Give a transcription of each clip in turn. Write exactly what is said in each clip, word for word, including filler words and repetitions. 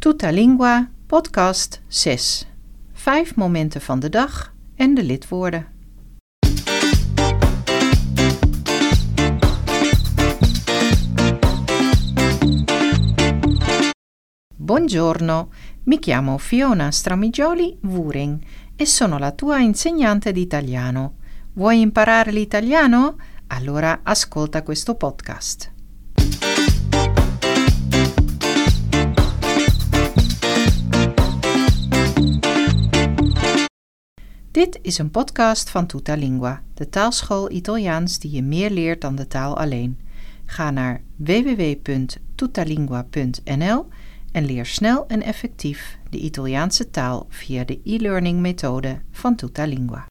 Tutta Lingua, podcast zes. Vijf momenten van de dag en de lidwoorden. Buongiorno, mi chiamo Fiona Stramigioli Wuring e sono la tua insegnante di italiano. Vuoi imparare l'italiano? Allora ascolta questo podcast. Dit is een podcast van Tutta Lingua, de taalschool Italiaans die je meer leert dan de taal alleen. Ga naar w w w punt tuttalingua punt n l en leer snel en effectief de Italiaanse taal via de e-learning methode van Tutta Lingua.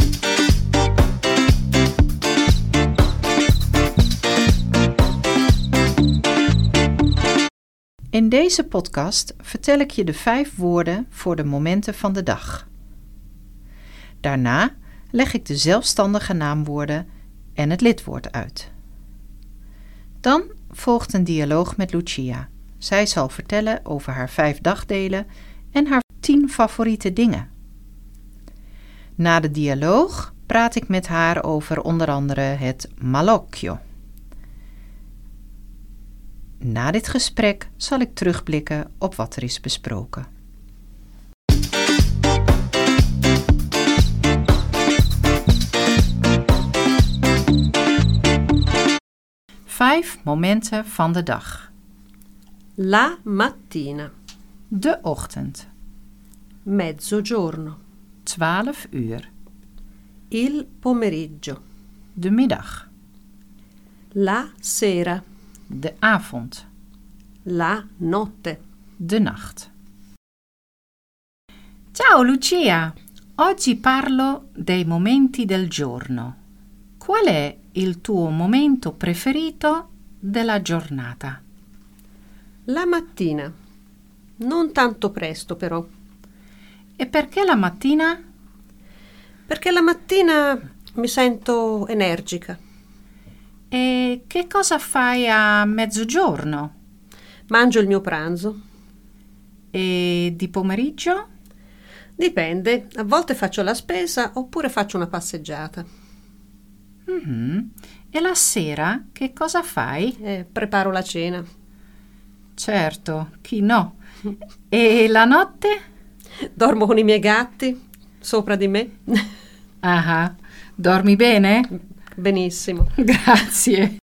In deze podcast vertel ik je de vijf woorden voor de momenten van de dag. Daarna leg ik de zelfstandige naamwoorden en het lidwoord uit. Dan volgt een dialoog met Lucia. Zij zal vertellen over haar vijf dagdelen en haar tien favoriete dingen. Na de dialoog praat ik met haar over onder andere het malocchio. Na dit gesprek zal ik terugblikken op wat er is besproken. Vijf momenten van de dag. La mattina. De ochtend. Mezzogiorno. Twaalf uur. Il pomeriggio. De middag. La sera. De avond. La notte. De nacht. Ciao Lucia, oggi parlo dei momenti del giorno. Qual è il tuo momento preferito della giornata? La mattina. Non tanto presto però. E perché la mattina? Perché la mattina mi sento energica. E che cosa fai a mezzogiorno? Mangio il mio pranzo. E di pomeriggio? Dipende, a volte faccio la spesa oppure faccio una passeggiata. Mm-hmm. E la sera che cosa fai? Eh, preparo la cena. Certo, chi no? E la notte? Dormo con i miei gatti sopra di me. Ah, dormi bene? Benissimo. Grazie.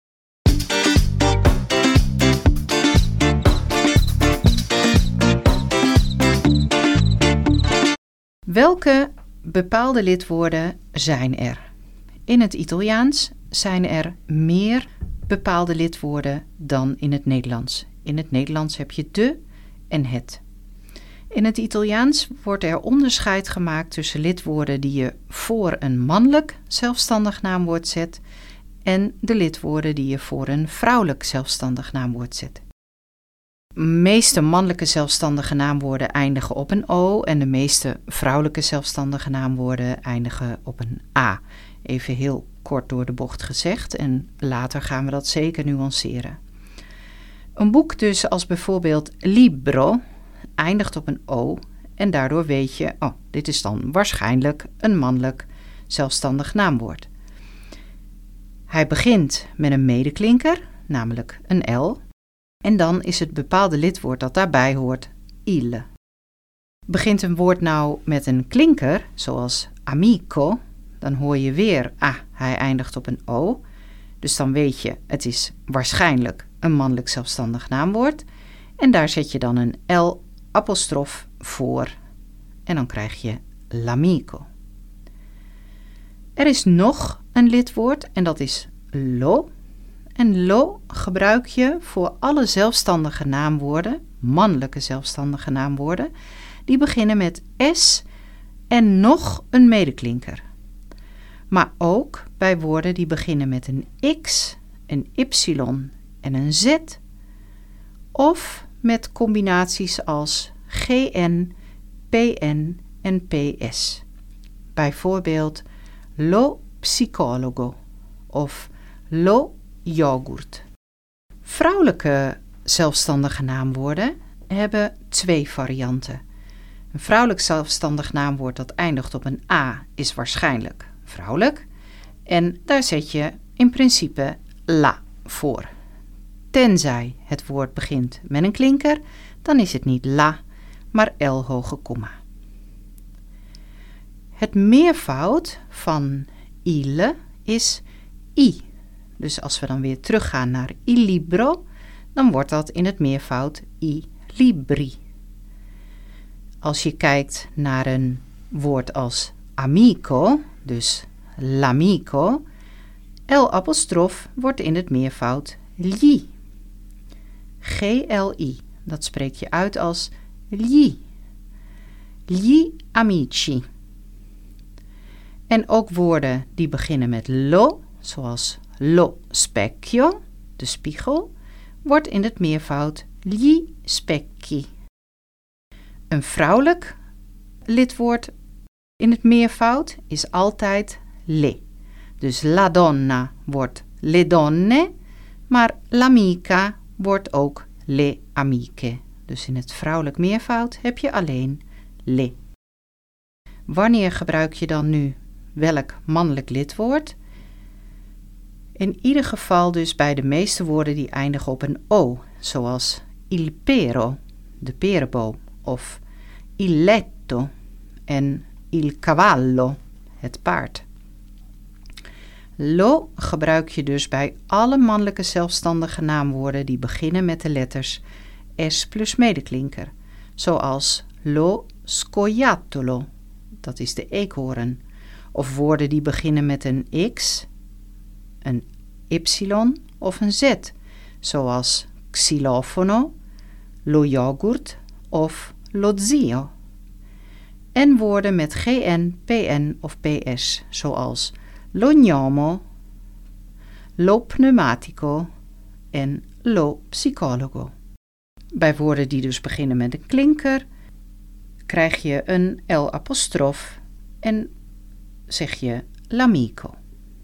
Welke bepaalde lidwoorden zijn er? In het Italiaans zijn er meer bepaalde lidwoorden dan in het Nederlands. In het Nederlands heb je de en het. In het Italiaans wordt er onderscheid gemaakt tussen lidwoorden die je voor een mannelijk zelfstandig naamwoord zet en de lidwoorden die je voor een vrouwelijk zelfstandig naamwoord zet. De meeste mannelijke zelfstandige naamwoorden eindigen op een o en de meeste vrouwelijke zelfstandige naamwoorden eindigen op een a. Even heel kort door de bocht gezegd en later gaan we dat zeker nuanceren. Een boek dus als bijvoorbeeld libro eindigt op een o en daardoor weet je, oh, dit is dan waarschijnlijk een mannelijk zelfstandig naamwoord. Hij begint met een medeklinker, namelijk een L, en dan is het bepaalde lidwoord dat daarbij hoort il. Begint een woord nou met een klinker, zoals amico, dan hoor je weer, ah, hij eindigt op een o, dus dan weet je, het is waarschijnlijk een mannelijk zelfstandig naamwoord, en daar zet je dan een L apostrof voor en dan krijg je l'amico. Er is nog een lidwoord en dat is lo. En lo gebruik je voor alle zelfstandige naamwoorden, mannelijke zelfstandige naamwoorden, die beginnen met s en nog een medeklinker. Maar ook bij woorden die beginnen met een x, een y en een z, of met combinaties als gn, pn en ps. Bijvoorbeeld lo psicologo of lo yoghurt. Vrouwelijke zelfstandige naamwoorden hebben twee varianten. Een vrouwelijk zelfstandig naamwoord dat eindigt op een a is waarschijnlijk vrouwelijk. En daar zet je in principe la voor. Tenzij het woord begint met een klinker, dan is het niet la, maar l hoge komma. Het meervoud van il is i. Dus als we dan weer teruggaan naar il libro, dan wordt dat in het meervoud i libri. Als je kijkt naar een woord als amico, dus l'amico, l-apostrof wordt in het meervoud gli. G L I, dat spreek je uit als gli. Gli amici. En ook woorden die beginnen met lo, zoals lo specchio, de spiegel, wordt in het meervoud gli specchi. Een vrouwelijk lidwoord in het meervoud is altijd le. Dus la donna wordt le donne, maar l'amica wordt ook le amiche. Dus in het vrouwelijk meervoud heb je alleen le. Wanneer gebruik je dan nu welk mannelijk lidwoord? In ieder geval dus bij de meeste woorden die eindigen op een o, zoals il pero, de perenboom, of il letto en il cavallo, het paard. Lo gebruik je dus bij alle mannelijke zelfstandige naamwoorden die beginnen met de letters S plus medeklinker, zoals lo scoiattolo, dat is de eekhoorn, of woorden die beginnen met een X, een Y of een Z, zoals xylofono, lo yoghurt of lo zio. En woorden met G N, P N of P S, zoals lo gnomo, lo pneumatico en lo psicologo. Bij woorden die dus beginnen met een klinker, krijg je een L-apostrof en zeg je l'amico.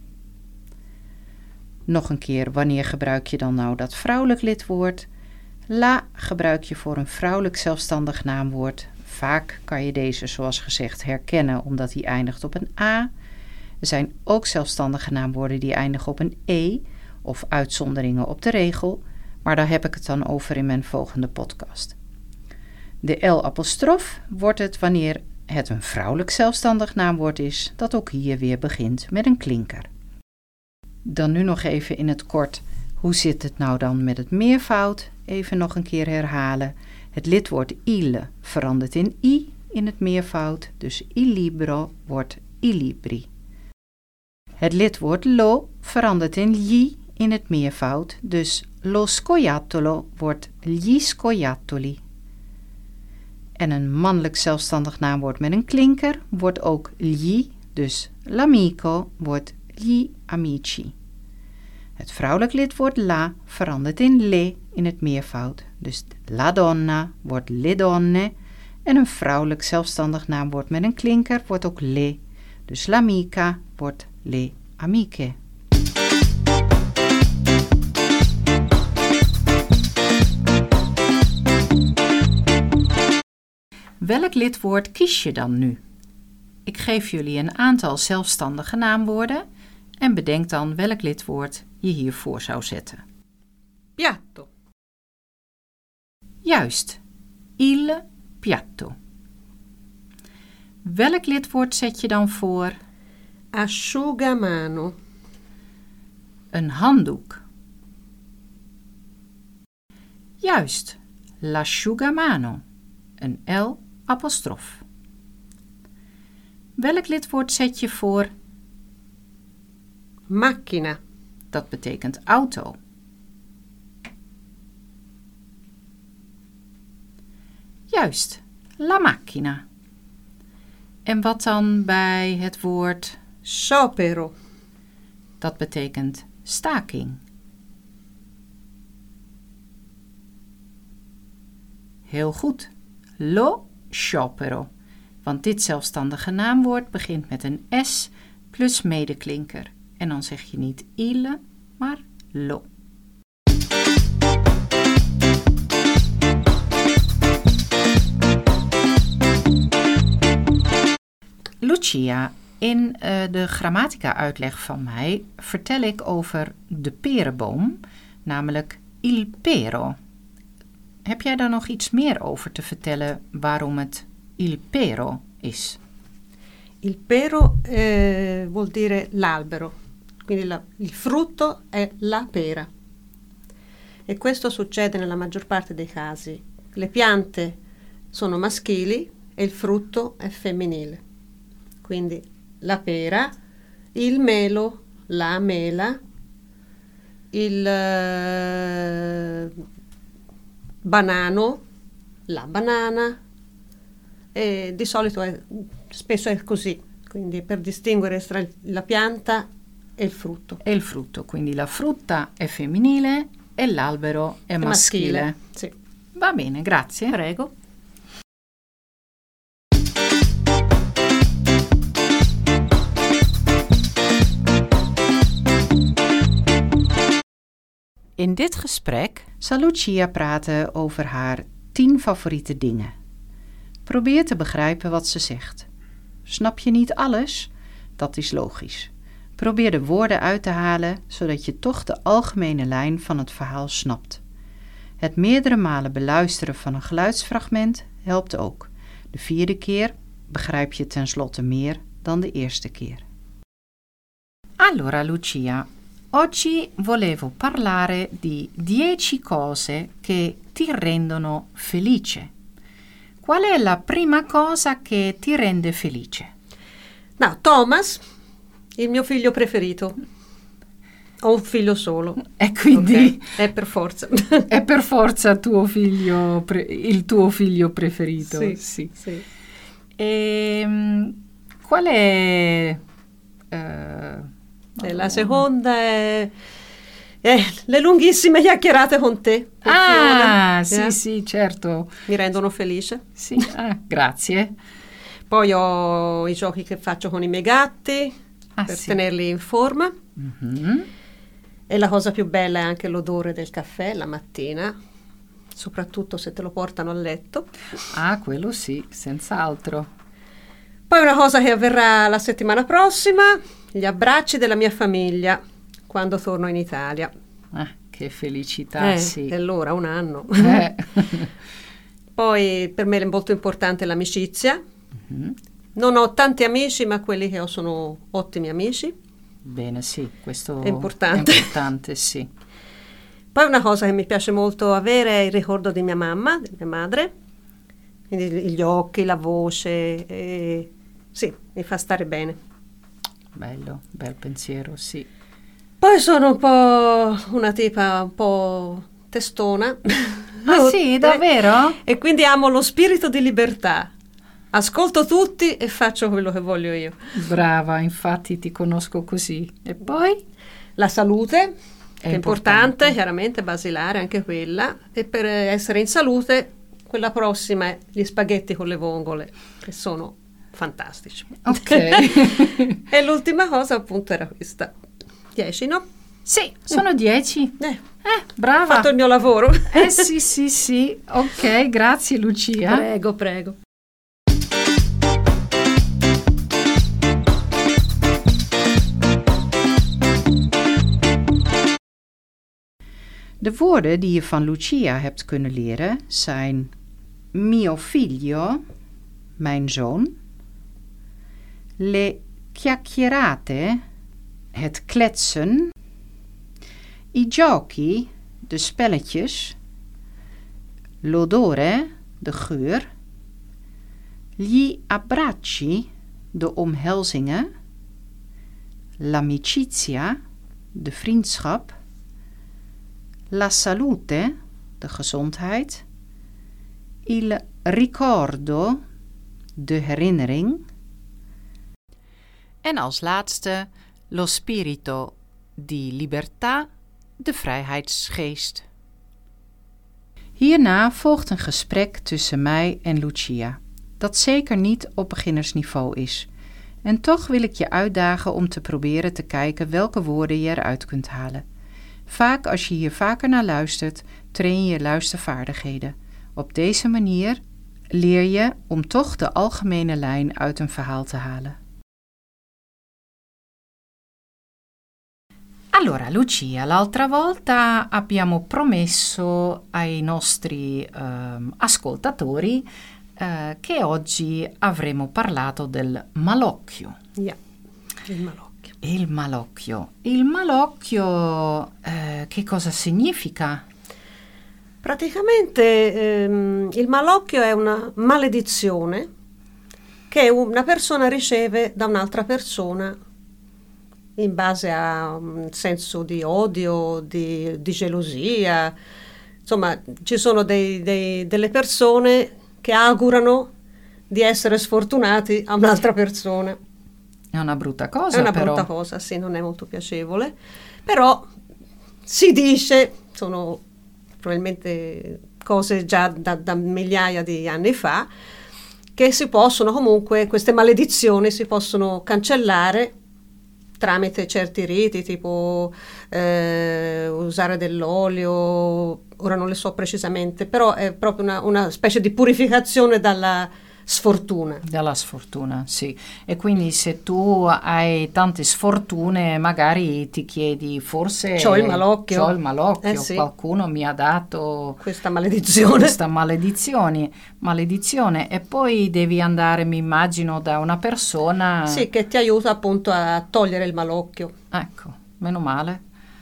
Nog een keer, wanneer gebruik je dan nou dat vrouwelijk lidwoord? La gebruik je voor een vrouwelijk zelfstandig naamwoord. Vaak kan je deze, zoals gezegd, herkennen omdat die eindigt op een a. Er zijn ook zelfstandige naamwoorden die eindigen op een e of uitzonderingen op de regel, maar daar heb ik het dan over in mijn volgende podcast. De L-apostrof wordt het wanneer het een vrouwelijk zelfstandig naamwoord is, dat ook hier weer begint met een klinker. Dan nu nog even in het kort, hoe zit het nou dan met het meervoud? Even nog een keer herhalen. Het lidwoord il verandert in i in het meervoud, dus il libro wordt il libri. Het lidwoord lo verandert in gli in het meervoud, dus lo scoiattolo wordt gli scoiattoli. En een mannelijk zelfstandig naamwoord met een klinker wordt ook gli, dus l'amico wordt gli amici. Het vrouwelijk lidwoord la verandert in le in het meervoud, dus la donna wordt le donne. En een vrouwelijk zelfstandig naamwoord met een klinker wordt ook le, dus l'amica wordt le amiche. Welk lidwoord kies je dan nu? Ik geef jullie een aantal zelfstandige naamwoorden en bedenk dan welk lidwoord je hiervoor zou zetten. Piatto. Juist, il piatto. Welk lidwoord zet je dan voor? Asciugamano. Een handdoek. Juist, l'asciugamano. Een L apostrof. Welk lidwoord zet je voor? Macchina. Dat betekent auto. Juist, la macchina. En wat dan bij het woord Sciopero. Dat betekent staking. Heel goed. Lo sciopero. Want dit zelfstandige naamwoord begint met een S plus medeklinker. En dan zeg je niet il, maar lo. Lucia, in uh, de grammatica-uitleg van mij vertel ik over de perenboom, namelijk il pero. Heb jij daar nog iets meer over te vertellen waarom het il pero is? Il pero eh, vuol dire l'albero, quindi la, il frutto è la pera. E questo succede nella maggior parte dei casi. Le piante sono maschili e il frutto è femminile. Quindi la pera, il melo, la mela, il eh, banano, la banana, e di solito è, spesso è così, quindi per distinguere tra la pianta e il frutto. E il frutto, quindi la frutta è femminile e l'albero è, è maschile. maschile. Sì. Va bene, grazie. Prego. In dit gesprek zal Lucia praten over haar tien favoriete dingen. Probeer te begrijpen wat ze zegt. Snap je niet alles? Dat is logisch. Probeer de woorden uit te halen, zodat je toch de algemene lijn van het verhaal snapt. Het meerdere malen beluisteren van een geluidsfragment helpt ook. De vierde keer begrijp je tenslotte meer dan de eerste keer. Allora Lucia, oggi volevo parlare di dieci cose che ti rendono felice. Qual è la prima cosa che ti rende felice? No, Thomas, il mio figlio preferito. Ho un figlio solo. E quindi okay. È per forza. È per forza tuo figlio pre- il tuo figlio preferito. Sì, sì. sì. E, qual è... Uh, E la seconda è, è le lunghissime chiacchierate con te. Ah, Fiona. sì, eh? sì, certo. Mi rendono felice. Sì, ah, grazie. Poi ho i giochi che faccio con i miei gatti ah, per sì. tenerli in forma. Mm-hmm. E la cosa più bella è anche l'odore del caffè la mattina, soprattutto se te lo portano a letto. Ah, quello sì, senz'altro. Poi una cosa che avverrà la settimana prossima, gli abbracci della mia famiglia quando torno in Italia. Ah, che felicità, eh, sì. E allora, un anno. Eh. Poi per me è molto importante l'amicizia. Mm-hmm. Non ho tanti amici, ma quelli che ho sono ottimi amici. Bene, sì, questo è importante. È importante, sì. Poi una cosa che mi piace molto avere è il ricordo di mia mamma, di mia madre. Quindi gli occhi, la voce, e... sì, mi fa stare bene. Bello, bel pensiero, sì. Poi sono un po' una tipa un po' testona. Ah sì, davvero? E quindi amo lo spirito di libertà. Ascolto tutti e faccio quello che voglio io. Brava, infatti ti conosco così. E poi? La salute, è che è importante, importante, chiaramente basilare anche quella. E per essere in salute, quella prossima è gli spaghetti con le vongole, che sono fantastici. Ok. E l'ultima cosa appunto era questa. Dieci, no? Sì, sono dieci. Eh, eh, brava. Ho fatto il mio lavoro. Eh sì, sì, sì. Ok, grazie Lucia. Prego, prego. De woorden die je van Lucia hebt kunnen leren zijn mio figlio, mijn zoon, le chiacchierate, het kletsen, i giochi, de spelletjes, l'odore, de geur, gli abbracci, de omhelzingen, l'amicizia, de vriendschap, la salute, de gezondheid, il ricordo, de herinnering. En als laatste, lo spirito di libertà, de vrijheidsgeest. Hierna volgt een gesprek tussen mij en Lucia, dat zeker niet op beginnersniveau is. En toch wil ik je uitdagen om te proberen te kijken welke woorden je eruit kunt halen. Vaak als je hier vaker naar luistert, train je je luistervaardigheden. Op deze manier leer je om toch de algemene lijn uit een verhaal te halen. Allora, Lucia, l'altra volta abbiamo promesso ai nostri ehm, ascoltatori eh, che oggi avremmo parlato del malocchio. Yeah, il malocchio. Il malocchio. Il malocchio eh, che cosa significa? Praticamente ehm, il malocchio è una maledizione che una persona riceve da un'altra persona in base a un senso di odio, di, di gelosia. Insomma, ci sono dei, dei, delle persone che augurano di essere sfortunati a un'altra persona. È una brutta cosa, È una però. brutta cosa, sì, non è molto piacevole. Però si dice, sono probabilmente cose già da, da migliaia di anni fa, che si possono comunque, queste maledizioni si possono cancellare tramite certi riti, tipo eh, usare dell'olio, ora non le so precisamente, però è proprio una, una specie di purificazione dalla sfortuna. Dalla sfortuna, sì. E quindi se tu hai tante sfortune, magari ti chiedi, forse C'ho il malocchio. C'ho il malocchio, Eh sì. qualcuno mi ha dato Questa maledizione. questa maledizione, maledizione. E poi devi andare, mi immagino, da una persona. Sì, che ti aiuta appunto a togliere il malocchio. Ecco, meno male.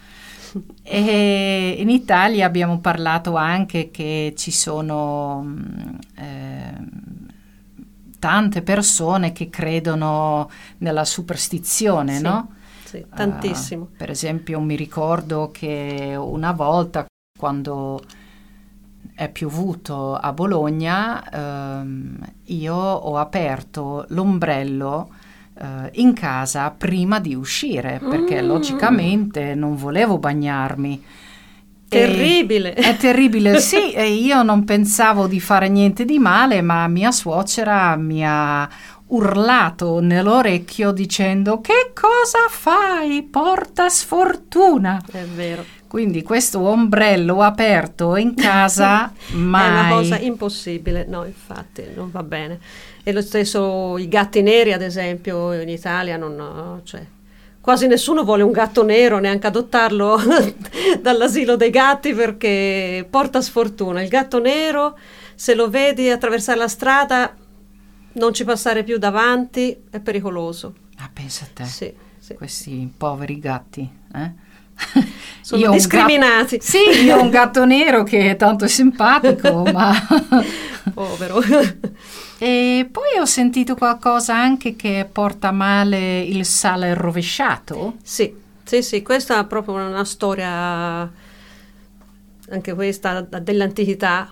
E in Italia abbiamo parlato anche che ci sono mh, eh, tante persone che credono nella superstizione, Sì, no? sì, tantissimo. Uh, per esempio, mi ricordo che una volta, quando è piovuto a Bologna, ehm, io ho aperto l'ombrello Uh, in casa prima di uscire, perché Mm. logicamente non volevo bagnarmi. Terribile. E, è terribile, sì, e io non pensavo di fare niente di male, ma mia suocera mi ha urlato nell'orecchio dicendo: che cosa fai? Porta sfortuna. È vero. Quindi questo ombrello aperto in casa mai. È una cosa impossibile, no, infatti non va bene. E lo stesso i gatti neri, ad esempio, in Italia non, cioè, quasi nessuno vuole un gatto nero, neanche adottarlo dall'asilo dei gatti, perché porta sfortuna. Il gatto nero, se lo vedi attraversare la strada, non ci passare più davanti, è pericoloso. Ah, pensa a te, Sì, sì. questi poveri gatti, eh? Sono Io ho un discriminati. gatto- sì, io ho un gatto nero che è tanto simpatico, ma Povero. E poi ho sentito qualcosa anche che porta male il sale rovesciato. Sì, sì, sì, questa è proprio una storia, anche questa dell'antichità,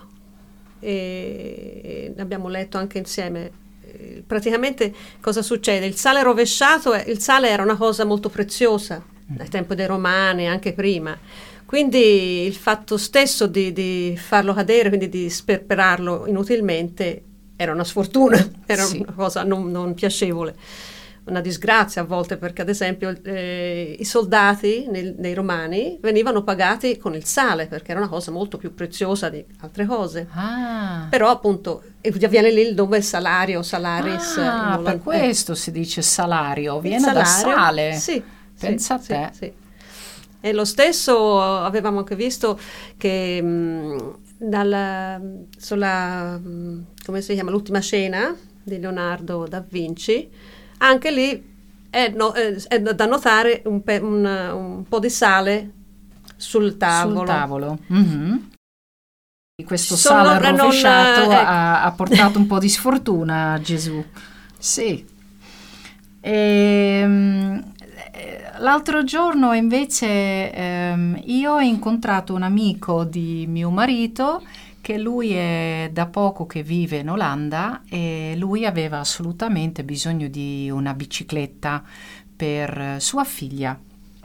e abbiamo letto anche insieme. Eh, Praticamente cosa succede? Il sale rovesciato, è- il sale era una cosa molto preziosa dai tempi dei Romani, anche prima. Quindi il fatto stesso di, di farlo cadere, quindi di sperperarlo inutilmente, era una sfortuna, era Sì. una cosa non, non piacevole, una disgrazia a volte, perché ad esempio eh, i soldati nel- nei Romani venivano pagati con il sale, perché era una cosa molto più preziosa di altre cose. Ah, Però appunto e viene lì il nome salario, salaris. ah, in per oland- questo si dice salario, il viene da salario, sale. Sì, Pensa sì, a te. sì, sì. E lo stesso avevamo anche visto che mh, dalla, sulla, mh, come si chiama, l'ultima cena di Leonardo da Vinci, anche lì è, no- è- è da notare un, pe- un- un po' di sale sul tavolo. Sul tavolo. Mhm. Questo Sono- sale non- rovesciato ecco. ha, ha portato un po' di sfortuna a Gesù. Sì. Ehm, eh, l'altro giorno invece ehm, io ho incontrato un amico di mio marito, che lui è da poco che vive in Olanda, e lui aveva assolutamente bisogno di una bicicletta per sua figlia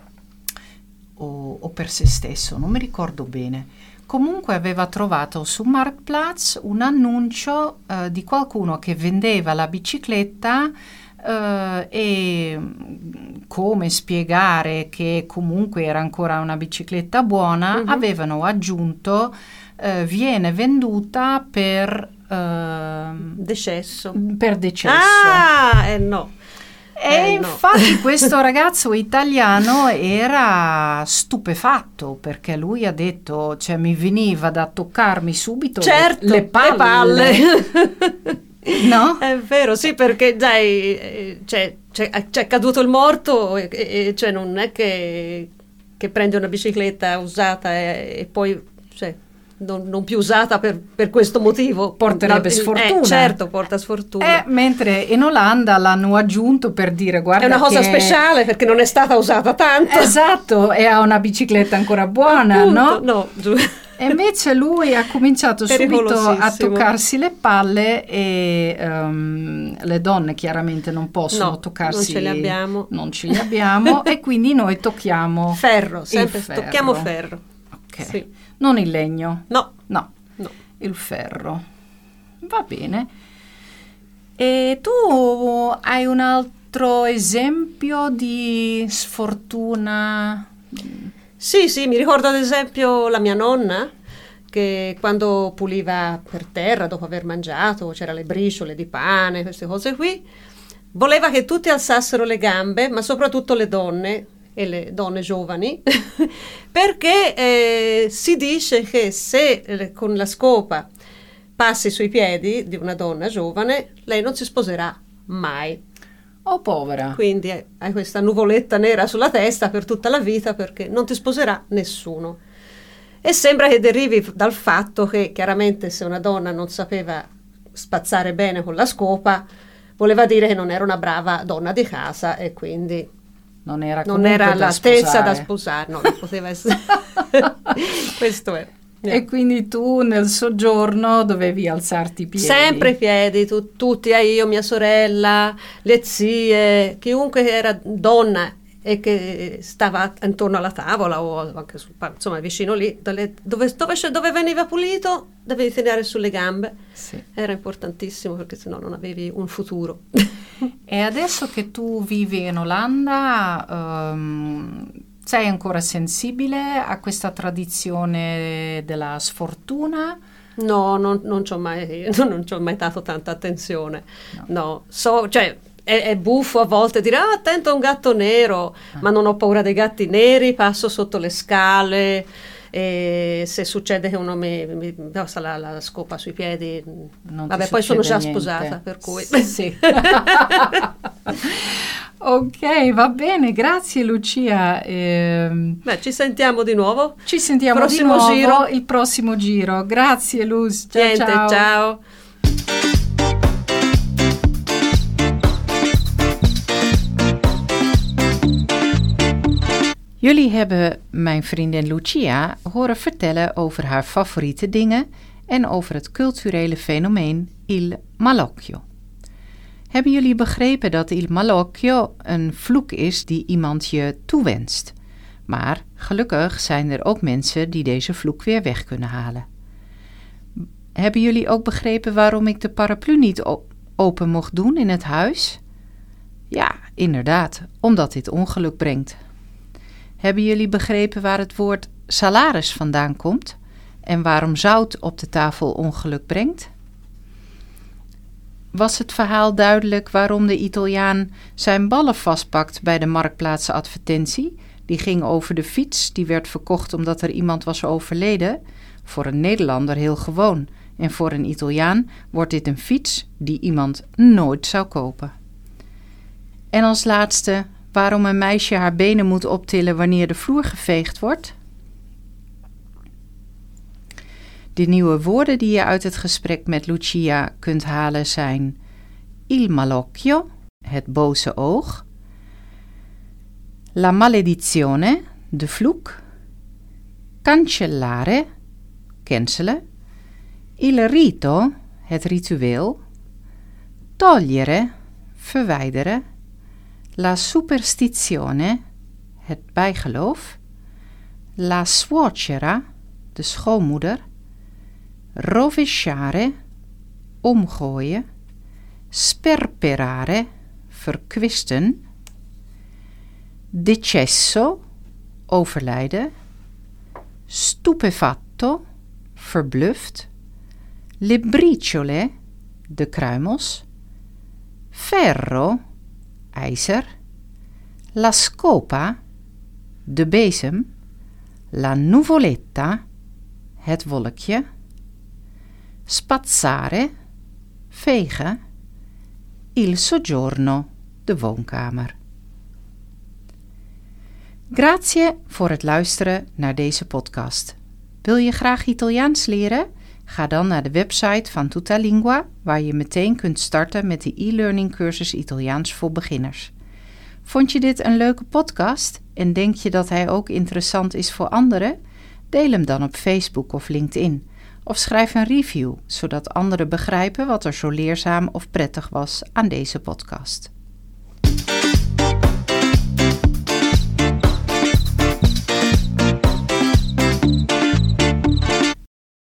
o, o per se stesso, non mi ricordo bene. Comunque aveva trovato su Marktplatz un annuncio eh, di qualcuno che vendeva la bicicletta, eh, e mm, come spiegare che comunque era ancora una bicicletta buona, Mhm. avevano aggiunto eh, viene venduta per, ehm, Decesso. per decesso. Ah, eh no. E Eh, no. infatti questo ragazzo italiano era stupefatto perché lui ha detto, cioè mi veniva da toccarmi subito Certo, le palle. le palle. No? È vero, sì, perché dai, eh, cioè, c'è, c'è caduto il morto e, e- cioè non è che, che prendi una bicicletta usata e, e poi cioè, non, non più usata per, per questo motivo. Porterebbe No, il- sfortuna. Eh, certo, porta sfortuna. Eh, mentre in Olanda l'hanno aggiunto per dire guarda È una cosa che- speciale perché non è stata usata tanto. Esatto, e ha una bicicletta ancora buona, Appunto, no? no, giù. E invece lui ha cominciato subito a Pericolosissimo. toccarsi le palle e ehm, le donne chiaramente non possono No, toccarsi, non ce le abbiamo. non ce li abbiamo e quindi noi tocchiamo Ferro, sempre il ferro. tocchiamo ferro. Ok. Sì. Non il legno, No, no, no. il ferro. Va bene. E tu hai un altro esempio di sfortuna? Sì, sì, mi ricordo ad esempio la mia nonna che quando puliva per terra dopo aver mangiato, c'era le briciole di pane, queste cose qui, voleva che tutti alzassero le gambe, ma soprattutto le donne e le donne giovani, perché eh, si dice che se eh, con la scopa passi sui piedi di una donna giovane, lei non si sposerà mai. Oh, povera. Quindi hai hai questa nuvoletta nera sulla testa per tutta la vita perché non ti sposerà nessuno. E sembra che derivi dal fatto che chiaramente se una donna non sapeva spazzare bene con la scopa, voleva dire che non era una brava donna di casa e quindi Non era, non comunque era da all'altezza sposare. da sposare, no, non poteva essere. Questo è. E quindi tu nel soggiorno dovevi alzarti i piedi. Sempre i piedi, tu- tutti, eh, io, mia sorella, le zie, chiunque era donna e che stava intorno alla tavola o anche sul, pa- insomma vicino lì, dove, dove, dove, dove veniva pulito, dovevi tenere sulle gambe. Sì. Era importantissimo perché sennò non avevi un futuro. E adesso che tu vivi in Olanda, ehm, sei ancora sensibile a questa tradizione della sfortuna? No, non, non ci ho mai, non ci ho mai dato tanta attenzione. No. No, so, cioè, è, è buffo a volte dire, ah, attento a un gatto nero, Ah. ma non ho paura dei gatti neri, passo sotto le scale, e se succede che uno mi, mi passa la, la scopa sui piedi, Non ti vabbè, poi sono già succede niente. sposata, per cui... Sì. Ok, va bene, grazie Lucia. Ehm, Beh, ci sentiamo di nuovo. ci sentiamo Prossimo di nuovo giro. il prossimo giro. Grazie Luz. Ciao, Niente, ciao. ciao. Jullie hebben mijn vriendin Lucia horen vertellen over haar favoriete dingen en over het culturele fenomeen il malocchio. Hebben jullie begrepen dat il malocchio een vloek is die iemand je toewenst? Maar gelukkig zijn er ook mensen die deze vloek weer weg kunnen halen. Hebben jullie ook begrepen waarom ik de paraplu niet o- open mocht doen in het huis? Ja, inderdaad, omdat dit ongeluk brengt. Hebben jullie begrepen waar het woord salaris vandaan komt en waarom zout op de tafel ongeluk brengt? Was het verhaal duidelijk waarom de Italiaan zijn ballen vastpakt bij de marktplaatsadvertentie? Die ging over de fiets, die werd verkocht omdat er iemand was overleden. Voor een Nederlander heel gewoon. En voor een Italiaan wordt dit een fiets die iemand nooit zou kopen. En als laatste, waarom een meisje haar benen moet optillen wanneer de vloer geveegd wordt? De nieuwe woorden die je uit het gesprek met Lucia kunt halen zijn il malocchio, het boze oog, la maledizione, de vloek, cancellare, cancelen, il rito, het ritueel, togliere, verwijderen, la superstizione, het bijgeloof, la suocera, de schoonmoeder, rovesciare, omgooien, sperperare, verkwisten, decesso, overlijden, stupefatto, verbluft, le briciole, de kruimels, ferro, ijzer, la scopa, de bezem, la nuvoletta, het wolkje, spazzare, vegen, il soggiorno, de woonkamer. Grazie voor het luisteren naar deze podcast. Wil je graag Italiaans leren? Ga dan naar de website van Tutalingua, waar je meteen kunt starten met de e-learning cursus Italiaans voor beginners. Vond je dit een leuke podcast en denk je dat hij ook interessant is voor anderen? Deel hem dan op Facebook of LinkedIn. Of schrijf een review, zodat anderen begrijpen wat er zo leerzaam of prettig was aan deze podcast.